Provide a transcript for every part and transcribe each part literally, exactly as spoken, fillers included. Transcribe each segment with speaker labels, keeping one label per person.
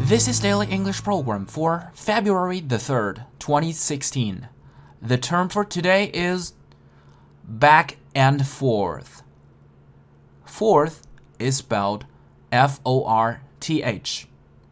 Speaker 1: This is Daily English Program for February the third, twenty sixteen. The term for today is back and forth. Forth is spelled F O R T H.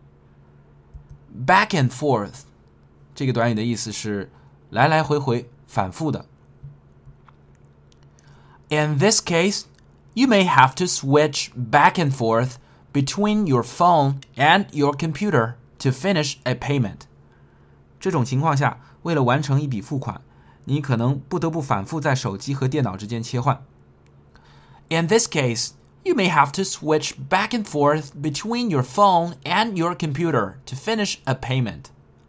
Speaker 1: Back and forth 这个短语的意思是来来回回反复的。In this case, you may have to switch back and forth between your phone and your computer to finish a payment. 这种情况下，为了完成一笔付款，你可能不得不反复在手机和电脑之间切换。In this case, you may have to switch back and forth between your phone and your computer to finish a payment.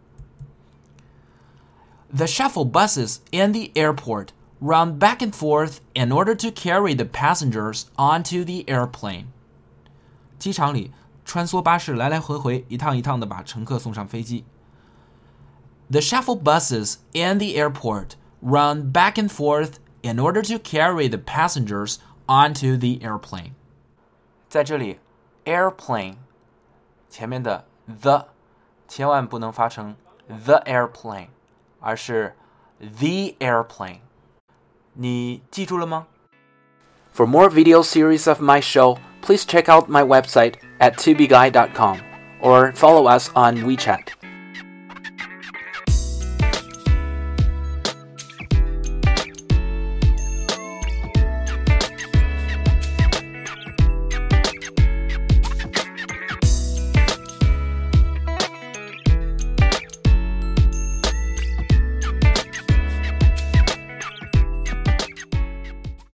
Speaker 1: The shuttle buses in the airport run back and forth in order to carry the passengers onto the airplane. 机场里，穿梭巴士来来回回，一趟一趟地把乘客送上飞机。The shuttle buses in the airport run back and forth in order to carry the passengers onto the airplane. 在这里 airplane 前面的 the 千万不能发成 the airplane， 而是 the airplane。你记住了吗？ For more video series of my show, please check out my website at tubeguy dot com or follow us on WeChat.